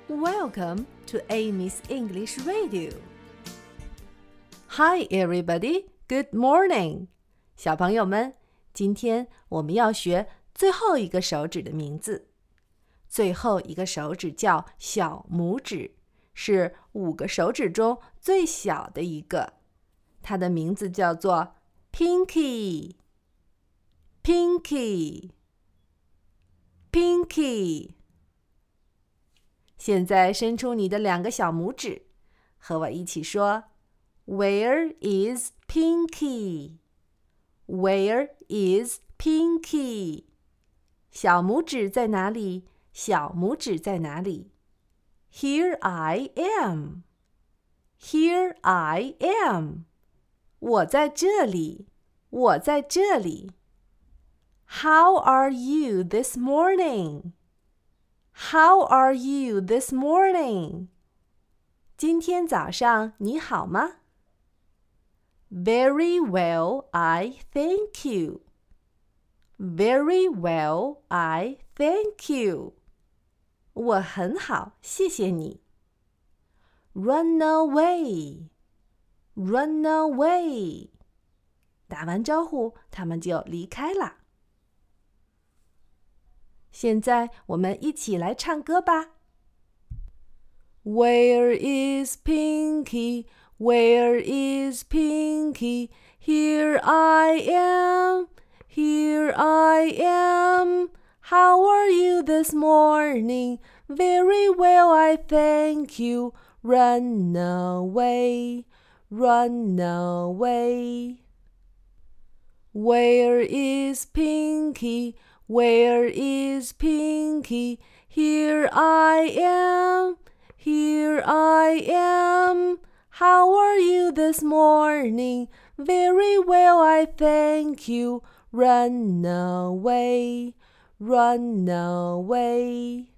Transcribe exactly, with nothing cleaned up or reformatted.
Welcome to Amy's English Radio. Hi, everybody. Good morning. 小朋友们，今天我们要学最后一个手指的名字。最后一个手指叫小拇指，是五个手指中最小的一个。它的名字叫做 Pinky. Pinky. Pinky. 现在伸出你的两个小拇指，和我一起说 Where is Pinky? Where is Pinky? 小拇指在哪里？小拇指在哪里？ Here I am. Here I am. 我在这里，我在这里。How are you this morning? How are you this morning? 今天早上你好吗？ Very well, I thank you. Very well, I thank you. 我很好，谢谢你。Run away. Run away. 打完招呼，他们就离开了。现在我们一起来唱歌吧。Where is Pinky? Where is Pinky? Here I am. Here I am. How are you this morning? Very well, I thank you. Run away. Run away. Where is Pinky? Where is Pinky? Here I am. Here I am. How are you this morning? Very well, I thank you. Run away. Run away.